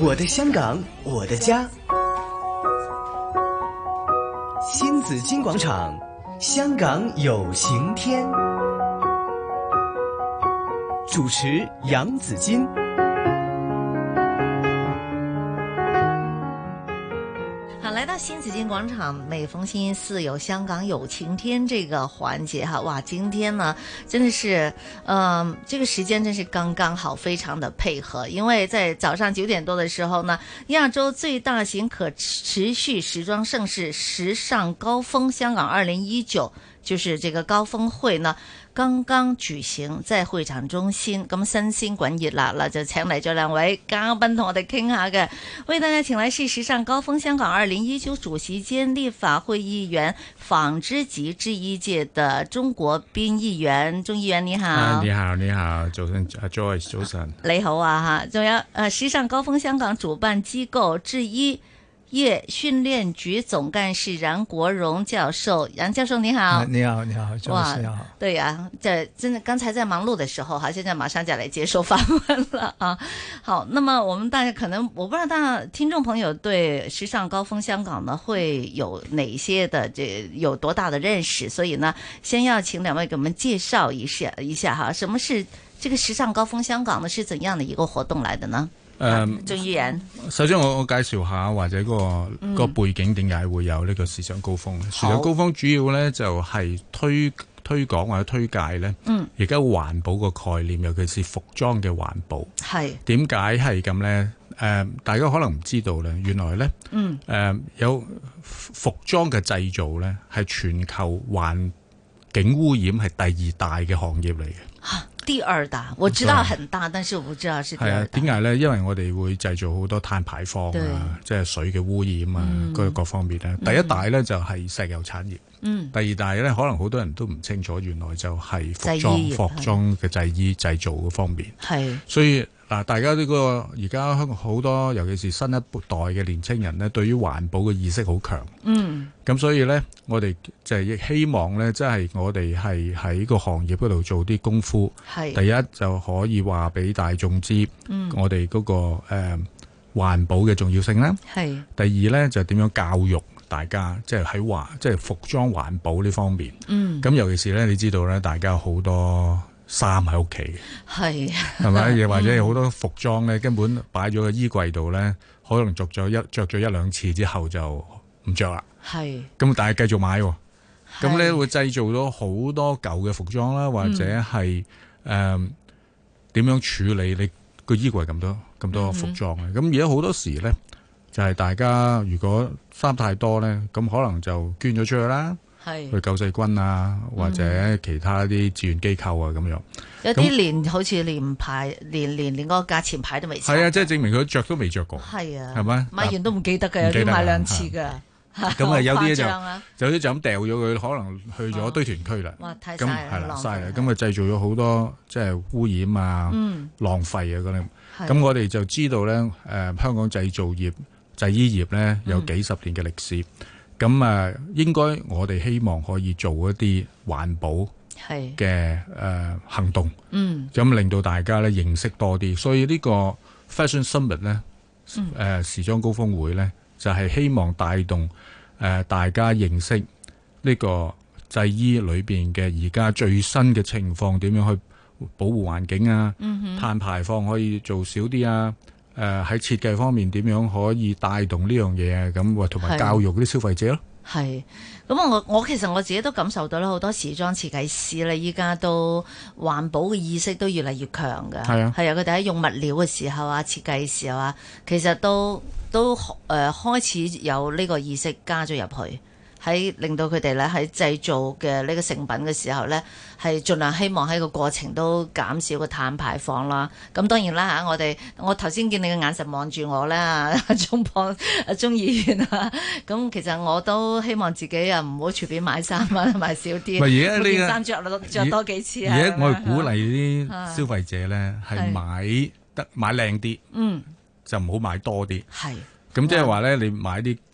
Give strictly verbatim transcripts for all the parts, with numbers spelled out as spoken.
我的香港，我的家。新紫金广场，香港有晴天。主持杨紫金。 好，来到新紫金广场，每逢星期四有香港有晴天这个环节哈，哇，今天呢真的是，嗯、呃，这个时间真是刚刚好，非常的配合，因为在早上九点多的时候呢，亚洲最大型可持续時裝盛事時尚高峰香港二零一九，就是這個高峰會呢，剛剛舉行在會場中心，咁新鮮滾熱辣啦，就請嚟咗兩位嘉賓同我哋傾下嘅，為大家請來是時尚高峰香港二零一九主席兼立法會議員紡織及製衣界的鍾國斌議員，鍾議員你好。 啊，你好，你好，早晨，阿 Joyce， 早晨。 你好啊吓，仲有誒時尚高峰香港主辦機構製衣業訓練局總幹事楊國榮教授，楊教授你好。 啊、你好，你好， 哇， 你好。 對呀、啊，這真的剛才在忙碌的時候哈，現在馬上就來接受訪問了啊。好，那麼我們大家可能我不知道大家聽眾朋友對時尚高峰香港呢會有哪些的這有多大的認識，所以呢，先要請兩位給我們介紹一下一下哈，什麼是這個時尚高峰香港呢？是怎樣的一個活動來的呢？誒，鍾議員， 首先我我介紹下或者、嗰個、嗯、個背景點解會有呢個時尚高峰。時尚高峰主要咧就係推推廣或者推介咧，而家環保個概念，尤其是服裝嘅環保。係點解係咁咧？誒、呃，大家可能唔知道咧，原來咧，誒、嗯呃、有服裝嘅製造咧係全球環境污染係第二大嘅行業嚟嘅。 第二大，我知道很大，但是我不知道是第二大。 點解呢？因為我哋會製造好多碳排放啊，即係水嘅污染啊，各、嗯、各方面咧。第一大呢就係石油產業，嗯、第二大呢可能好多人都唔清楚，原來就係服裝、服裝嘅製衣製造嗰方面。係，所以嗱，大家呢個而家香港好多，尤其是新一代嘅年青人呢，對於環保嘅意識好強。嗯，咁所以呢，我哋就係亦希望呢，即係我哋係喺個行業嗰度做啲功夫。係，第一就可以話俾大眾知，嗯、我哋嗰、嗰個誒、呃、環保嘅重要性啦。係，第二呢，就點樣教育大家，即係喺環即係服裝環保呢方面。嗯，咁尤其是呢，你知道呢，大家有好多衫喺屋企嘅，係係咪？又或者有好多服裝咧，根本擺咗個衣櫃度咧，可能着咗一着咗一兩次之後就唔着啦。係咁，但係繼續買喎。咁咧會製造咗好多舊嘅服裝啦，或者係誒點樣處理你個衣櫃咁多咁多服裝嘅？咁而家好多時咧，就係、是、大家如果衫太多咧，咁可能就捐咗出去啦。去救世軍啊，或者其他啲志願機構啊咁樣，有啲連好似連牌連連連個價錢牌都未係啊，即係證明佢着都未着過。係啊，係咪買完都唔記得嘅，有啲買兩次㗎。咁啊，有啲就有啲就咁掉咗佢，可能去咗堆填區啦。哇，太嘥啦，係啦，嘥啦，咁啊製造咗好多即係污染啊、嗯、浪費啊嗰啲。咁我哋就知道咧，誒、呃、香港製造業、製衣業咧有幾十年嘅歷史。嗯咁啊，應該我哋希望可以做一啲環保嘅誒、呃、行動，嗯，咁令到大家咧認識多啲。所以呢個 Fashion Summit 咧，誒、呃、時裝高峰會咧，就係、是、希望帶動誒、呃、大家認識呢個製衣裏邊嘅而家最新嘅情況，點樣去保護環境啊，嗯、碳排放可以做少啲啊。誒、呃、喺設計方面點樣可以帶動呢樣嘢啊？咁同埋教育啲消費者咯。係，咁我我其實我自己都感受到啦，好多時裝設計師咧，依家都環保嘅意識都越嚟越強㗎。係啊，係啊，佢哋喺用物料嘅時候啊，設計嘅時候啊，其實都都誒、呃、開始有呢個意識加咗入去。喺令到佢哋咧喺製造嘅呢個成品嘅時候咧，係盡量希望喺個過程都減少個碳排放啦。咁當然啦嚇，我哋我頭先見你嘅眼神望住我咧，鍾博啊鍾議員啊，咁其實我都希望自己啊唔好隨便買衫啊，買少啲。唔係而家呢個衫著著多幾次啊。而家我係鼓勵啲消費者咧係買得買靚啲，嗯，就唔好買多啲。係。咁即係話咧，你買啲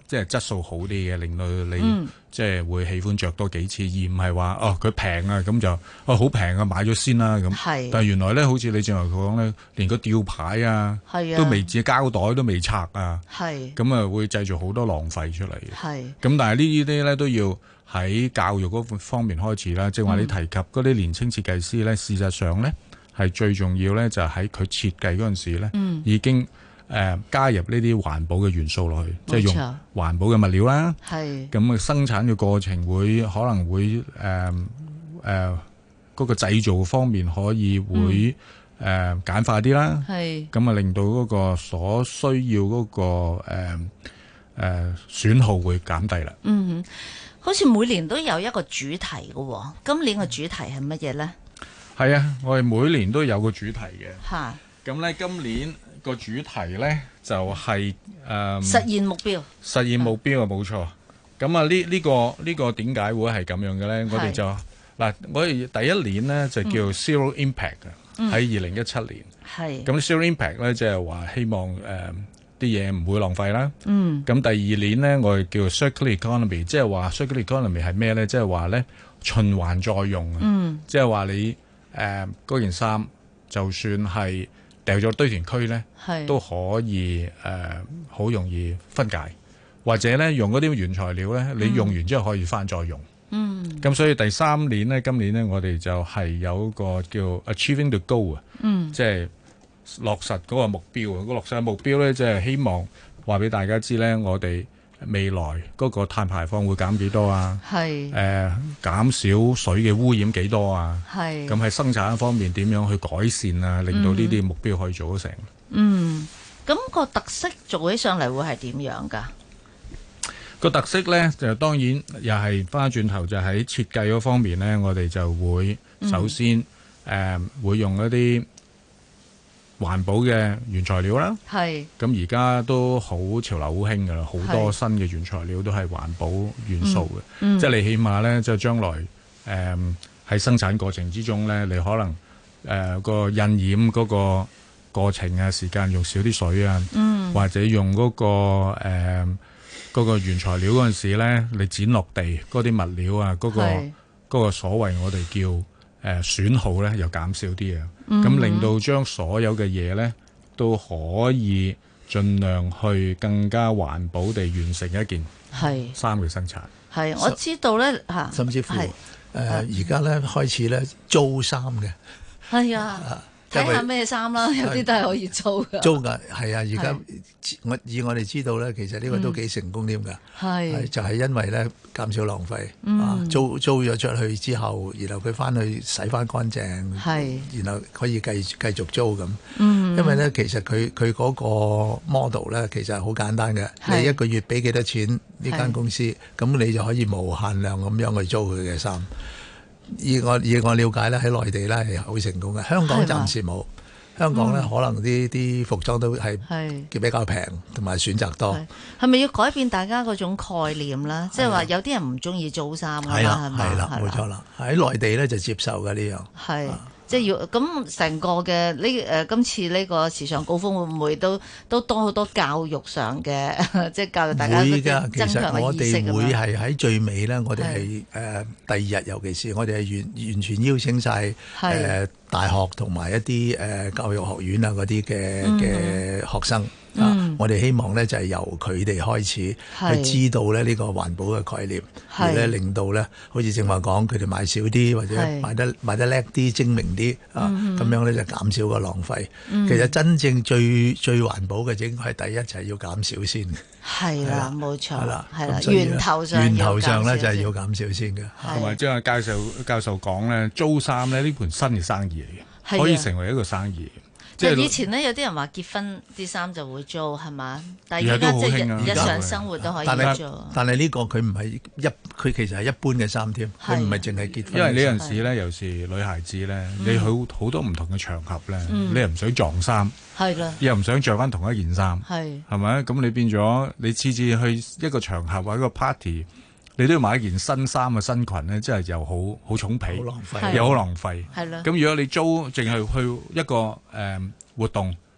即係質素好啲嘅，令到你、 嗯、 即係會喜歡着多幾次，而唔係話哦佢平啊咁就哦好平啊買咗先啦咁。但係原來咧，好似你正話講咧，連個吊牌啊，啊都未自己膠袋都未拆啊，咁啊會製造好多浪費出嚟。咁但係呢啲咧都要喺教育嗰方面開始啦。即係話你提及嗰啲年輕設計師咧，事實上咧係最重要咧，就喺佢設計嗰陣時咧、嗯，已經。誒、呃、加入呢啲環保嘅元素落去，即係用環保嘅物料啦。係咁啊，生產嘅過程會可能會誒誒嗰個製造方面可以會誒、嗯呃、簡化啲啦。係咁啊，令到嗰個所需要嗰、嗰個誒誒、呃、損耗會減低啦。 嗯，好似每年都有一個主題嘅喎，今年嘅主題係乜嘢咧？ 係啊，我哋每年都有個主題嘅。嚇！咁咧，今年個主題咧就係、是、誒、呃、 實現目標， 實現目標啊，冇錯。咁啊，呢、這、呢個呢、這個點解會係咁樣嘅咧？我哋就嗱，我哋第一年咧就叫 Zero Impact 嘅，喺二零一七年。係咁 Zero Impact 咧，即係話希望誒啲嘢唔會浪費啦。嗯。咁第二年咧，我哋叫 Circular Economy，即係話 Circular Economy 係咩咧？即係話咧循環再用啊。嗯。即係話你誒嗰件衫，就算係掉咗堆填區咧，都可以誒好、呃、容易分解，或者咧用嗰啲原材料咧、嗯，你用完之後可以翻再用。嗯，咁所以第三年咧，今年咧我哋就係有一個叫 Achieving the Goal 啊，嗯，即係落實嗰個目標啊。個落實嘅目標咧，即係希望話俾大家知咧，我哋未來嗰個碳排放會減幾多啊？係誒、呃、減少水嘅污染幾多啊？係咁喺生產方面點樣去改善啊？令到呢啲目標可以做得成。 嗯，咁、嗯個特色做起上嚟會係點樣㗎？ 個特色咧就當然又係翻轉頭就喺設計嗰方面咧，我哋就會首先誒、嗯呃、會用一啲環保嘅原材料啦，係咁而家都好潮流好興噶啦，好多新嘅原材料都係環保元素嘅、嗯嗯，即係你起碼咧，即係將來誒喺、呃、生產過程之中咧，你可能誒、呃、個印染嗰個過程啊，時間用少啲水啊、嗯，或者用嗰、嗰個誒嗰、呃嗰個原材料嗰陣時咧，你剪落地嗰啲物料啊，嗰、嗰個嗰、嗰個所謂我哋叫誒、呃、損耗咧，又減少啲啊。咁、嗯、令到將所有嘅嘢咧都可以盡量去更加環保地完成一件衫嘅生產。 係，我知道咧嚇， 甚至乎誒而家咧開始咧租衫嘅。係啊。 睇下咩衫啦，有啲都係可以租㗎。 租㗎，係啊！而家我以我哋知道咧，其實呢個都幾成功添㗎。係、嗯，就係、是、因為咧減少浪費。嗯、啊，租租咗出去之後，然後佢翻去洗翻乾淨。係，然後可以繼繼續租咁。嗯，因為咧其實佢佢嗰個 model 咧其實係好簡單嘅。你一個月俾幾多錢呢間公司，咁你就可以無限量咁樣去租佢嘅衫。以我以我了解咧，喺內地咧係好成功嘅。香港暫時冇，香港咧、嗯、可能啲啲服裝都係比較平，同埋選擇多。 係咪要改變大家嗰種概念啦？即係話有啲人唔中意租衫㗎嘛？係啦，冇錯啦。喺內地咧就接受嘅呢樣。係。 即係要咁成個嘅呢誒今次呢個時尚高峰會唔會都都多好多教育上嘅，即係教育大家增強嘅意識。 其實我哋會係喺最尾咧，我哋係誒第二日，尤其是我哋係完完全邀請晒誒、呃、大學同埋一啲誒、呃、教育學院啊嗰啲嘅嘅學生。嗯、啊！我哋希望咧就係、是、由佢哋開始去知道咧呢、這個環保嘅概念，而咧令到咧好似正話講，佢哋買少啲或者買得買得叻啲、精明啲啊，咁、嗯、樣咧就減少個浪費、嗯。其實真正最最環保嘅應該係第一就係、是、要減少先。係啦，冇錯。係啦，係啦，源頭上源頭上咧就係、是、要減少先嘅。 同埋即係教授教授講咧，租衫咧呢盤新嘅生意嚟嘅，可以成為一個生意。 即係以前咧，有啲人話結婚啲衫就會租係嘛，但係而家即係日常生活都可以做。 但係呢個佢唔係一，佢其實係一般嘅衫添，佢唔係淨係結婚。 因為呢陣時咧，有時女孩子咧，你去好多唔同嘅場合咧、嗯，你又唔想撞衫，係啦，又唔想着翻同一件衫，係係咪？咁你變咗你次次去一個場合或者一個 party，你都要買一件新衫嘅新裙咧，真係又好好重皮，又好浪費。係啦。咁如果你租淨係去一個誒、呃、活動，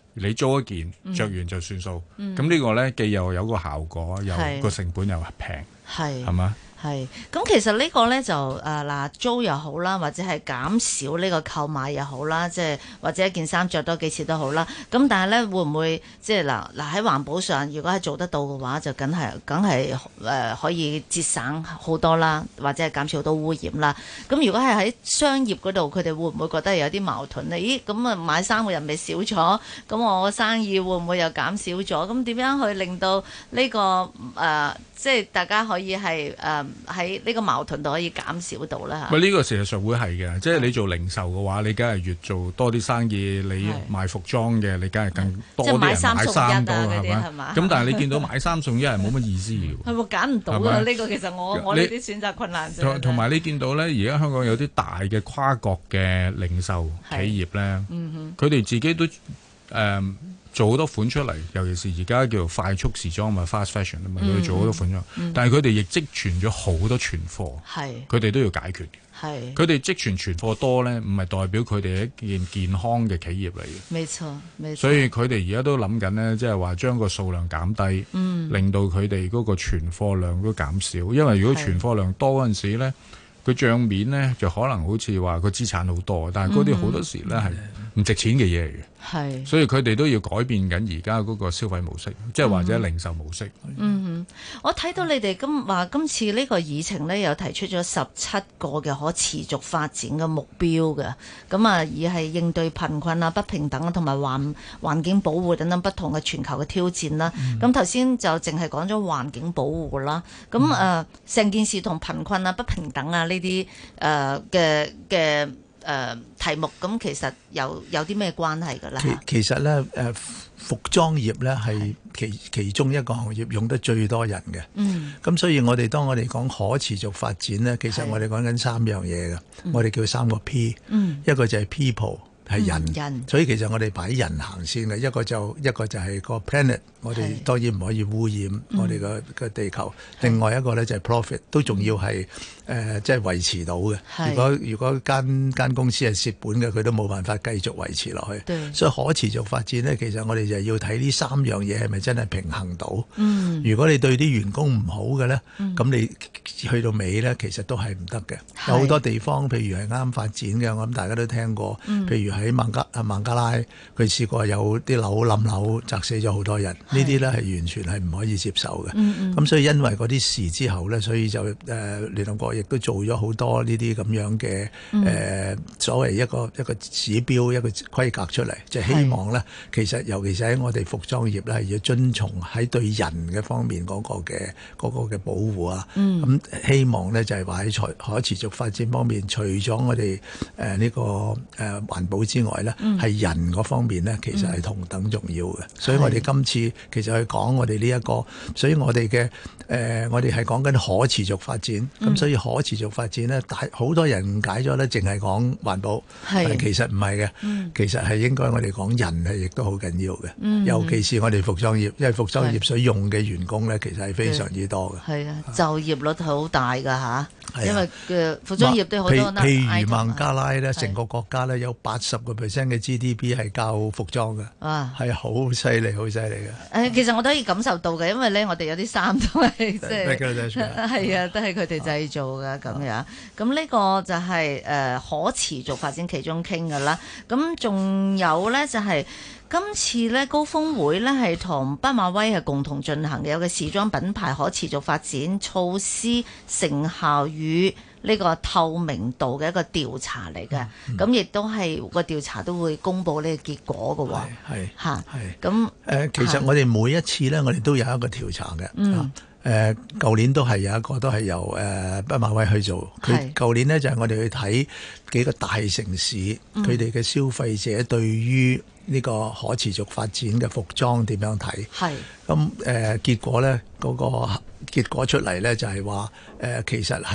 你租一件着完就算數。咁、嗯、呢個咧既又有個效果，又個成本又平，係係嘛？ 係，咁其實呢個咧就誒嗱、呃、租又好啦，或者係減少呢個購買又好啦，即係或者一件衫着多幾次都好啦。咁但係咧會唔會即係嗱嗱喺環保上，如果係做得到嘅話，就梗係梗係誒可以節省好多啦，或者係減少好多污染啦。咁如果係喺商業嗰度，佢哋會唔會覺得有啲矛盾咧？咦，咁啊買衫嘅人咪少咗，咁我生意會唔會又減少咗？咁點樣去令到呢、這個誒、呃、即係大家可以係誒喺呢個矛盾度可以減少到啦嚇。 喂，呢個事實上會係嘅，即係你做零售嘅話，你梗係越做多啲生意，你賣服裝嘅，你梗係更多啲人買衫多係嘛？咁但係你見到買三送一係冇乜意思嘅喎。係喎，揀唔到㗎呢個其實我我呢啲選擇困難症。同埋你見到咧，而家香港有啲大嘅跨國嘅零售企業咧，佢哋自己都誒。呃做好多款出嚟，尤其是而家叫做快速時裝嘛 ，fast fashion 啊嘛，佢哋做好多款咗，嗯、但係佢哋亦積存咗好多存貨，佢哋都要解決嘅。佢哋積存存貨多咧，唔係代表佢哋係一件健康嘅企業嚟嘅。冇錯，冇錯。所以佢哋而家都諗緊咧，即係話將個數量減低，嗯、令到佢哋嗰個存貨量都減少。因為如果存貨量多嗰陣時咧，佢帳面咧就可能好似話個資產好多，但係嗰啲好多時咧係唔值錢嘅嘢嚟嘅。係，所以佢哋都要改變緊而家嗰個消費模式，即係或者零售模式。 嗯哼，我睇到你哋今話今次呢個議程咧，有提出咗十七個嘅可持續發展嘅目標嘅，咁啊，而係應對貧困啊、不平等啊，同埋環環境保護等等不同嘅全球嘅挑戰啦。咁頭先就淨係講咗環境保護啦。咁誒，成、呃、件事同貧困啊、不平等啊呢啲誒嘅嘅。誒、呃、題目咁其實有有啲咩關係㗎啦？ 其其實咧誒服裝業咧係其其中一個行業用得最多人嘅。嗯，咁所以我哋當我哋講可持續發展咧，其實我哋講緊三樣嘢嘅，我哋叫三個 P。嗯，一個就係 people。係人，嗯、人，所以其實我哋擺人行先嘅，一個就一個就係個 planet，我哋當然唔可以污染我哋個個地球。嗯、另外一個咧就係 profit，都仲要係誒即係維持到嘅。如果如果間間公司係蝕本嘅，佢都冇辦法繼續維持落去。所以可持續發展咧，其實我哋就要睇呢三樣嘢係咪真係平衡到。嗯、如果你對啲員工唔好嘅咧，咁、嗯、你去到尾咧，其實都係唔得嘅。有好多地方，譬如係啱發展嘅，我諗大家都聽過，嗯、譬如喺孟加啊孟加拉，佢試過有啲樓冧樓砸死咗好多人，呢啲咧係完全係唔可以接受嘅。咁、嗯嗯、所以因為嗰啲事之後咧，所以就誒、呃、聯合國亦都做咗好多呢啲咁樣嘅誒、嗯呃、所謂一個一個指標一個規格出嚟，就係、希望咧其實尤其是喺我哋服裝業咧係要遵從喺對人嘅方面嗰個嘅嗰個嘅保護啊。咁、嗯、希望咧就係話喺可持續發展方面，除咗我哋誒呢個誒環保之外咧，係、嗯、人嗰方面咧，其實係同等重要嘅。嗯、所以我哋今次其實去講我哋呢一個，所以我哋嘅誒，我哋係講緊可持續發展。咁、嗯、所以可持續發展咧，大好多人誤解咗咧，淨係講環保，但係其實唔係嘅。嗯、其實係應該我哋講人係亦都好緊要嘅。嗯、尤其是我哋服裝業，因為服裝業所用嘅員工咧，其實係非常之多嘅。係啊， 就業率好大㗎吓。因為嘅服裝業都好多， 譬如孟加拉咧，成個國家咧有八十個 percent 嘅 G D P 係靠服裝嘅，係好犀利，好犀利嘅。誒，其實我都可以感受到嘅，因為咧，我哋有啲衫都係即係係啊，都係佢哋製造嘅咁樣。咁呢個就係誒可持續發展其中傾㗎啦。咁仲有咧就係。今次咧高峰會咧係同畢馬威係共同進行嘅，有個時裝品牌可持續發展措施成效與呢個透明度嘅一個調查嚟嘅，咁亦都係個調查都會公布呢個結果嘅喎。係嚇，係咁誒。其實我哋每一次咧，我哋都有一個調查嘅。嗯。誒，舊年都係有一個都係由誒畢馬威去做。佢舊年呢，就係我哋去睇幾個大城市，佢哋嘅消費者對於呢個可持續發展嘅服裝點樣睇？係咁誒，結果咧嗰個結果出嚟咧就係話誒，其實喺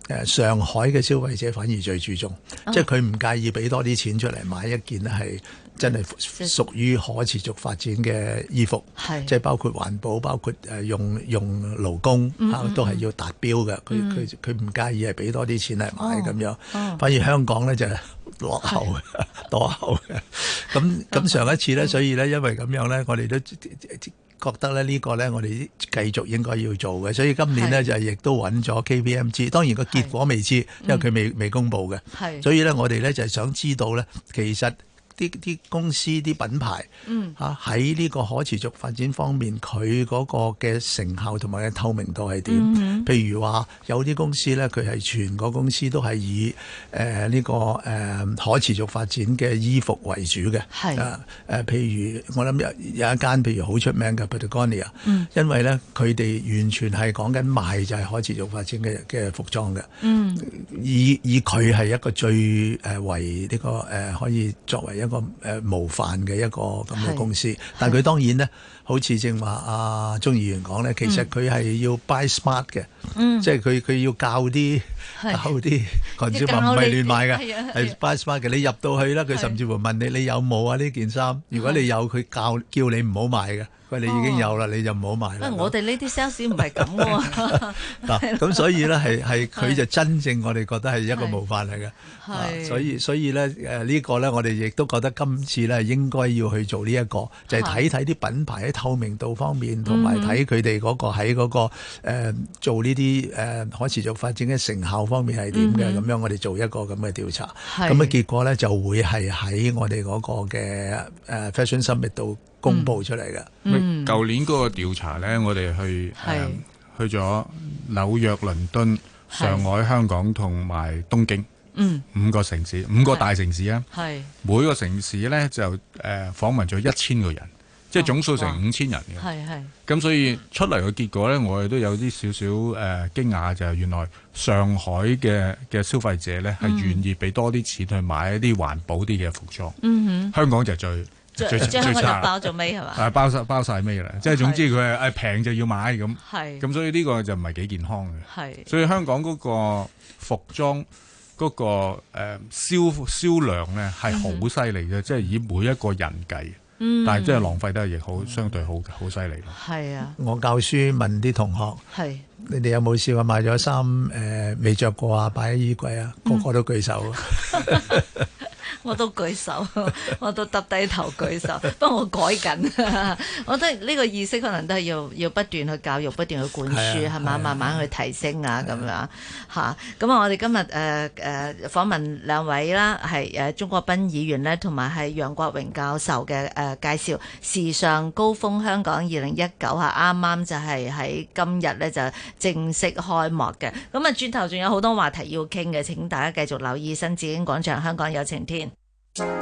誒上海嘅消費者反而最注重，哦、即係佢唔介意俾多啲錢出嚟買一件係真係屬於可持續發展嘅衣服，即係包括環保，包括誒用用勞工、嗯嗯嗯、都係要達標嘅。佢佢佢唔介意係俾多啲錢嚟買咁樣，哦、反而香港咧就係落後嘅，落後嘅。咁咁上一次咧，所以咧因為咁樣咧，我哋都覺得咧呢個咧我哋繼續應該要做嘅，所以今年咧就亦都揾咗 K P M G， 當然個結果未知，因為佢未未公布嘅，所以咧我哋咧就係想知道咧，其實啲啲公司啲品牌嚇喺呢個可持續發展方面，佢嗰個嘅成效同埋嘅透明度係點？嗯、譬如話有啲公司咧，佢係全個公司都係以誒呢、呃這個誒、呃、可持續發展嘅衣服為主嘅。係誒誒，譬如我諗有有一間譬如好出名嘅 Patagonia，嗯、因為咧佢哋完全係講緊賣就係可持續發展嘅嘅服裝嘅。嗯，以以佢係一個最誒、呃、為呢、這個誒、呃、可以作為一個誒模範嘅一個咁嘅公司，但係佢當然咧，好似正話阿鍾議員講咧，其實佢係要 buy smart 嘅，嗯、即係佢佢要教啲教啲群眾唔係亂買嘅，係 buy smart 嘅。你入到去啦，佢甚至乎問你你有冇啊呢件衫？如果你有，佢教叫你唔好買嘅。你已經有啦，你就唔好買啦。 我哋呢啲 sales 唔係咁喎。 嗱，咁所以咧係係佢就真正我哋覺得係一個模範嚟嘅。係，所以所以咧誒呢個咧我哋亦都覺得今次咧應該要去做呢一個，就係睇睇啲品牌喺透明度方面，同埋睇佢哋嗰個喺嗰個誒做呢啲誒可持續發展嘅成效方面係點嘅。咁樣我哋做一個咁嘅調查，咁嘅結果咧就會係喺我哋嗰個嘅誒 Fashion Summit 度公佈出嚟嘅。 嗯，舊年嗰個調查咧，我哋去誒、呃、去咗紐約、倫敦、上海、香港同埋東京，嗯，五個城市，五個大城市啊。係每個城市咧就誒、呃、訪問咗一千個人，即係總數成五千人嘅。係係。咁所以出嚟嘅結果咧，我哋都有啲少少誒驚訝，就係、是、原來上海嘅嘅消費者咧係願意俾多啲錢去買一啲環保啲嘅服裝。嗯哼，香港就最。 最最最香港就包咗尾係嘛？ 係包晒包曬尾啦，即係總之佢係誒平就要買咁。係咁，所以呢個就唔係幾健康嘅。係，所以香港嗰個服裝嗰、嗰個誒、呃、銷銷量咧係好犀利嘅，即係以每一個人計。嗯，但係即係浪費得亦好相對好好犀利咯。係啊，我教書問啲同學，係你哋有冇試過買咗衫誒未着過啊？擺喺衣櫃啊？個個都舉手。嗯我都舉手，我都耷低頭舉手，不過我改緊。我覺得呢個意識可能都係要要不斷去教育，不斷去灌輸，係嘛、啊，慢慢去提升啊咁樣嚇。咁啊，我哋今日誒誒訪問兩位啦，係誒鍾國斌議員咧，同埋係楊國榮教授嘅誒、呃、介紹時尚高峰香港二零一九嚇，啱啱就係喺今日咧就正式開幕嘅。咁啊，轉頭仲有好多話題要傾嘅，請大家繼續留意新紫荊廣場，香港有晴天。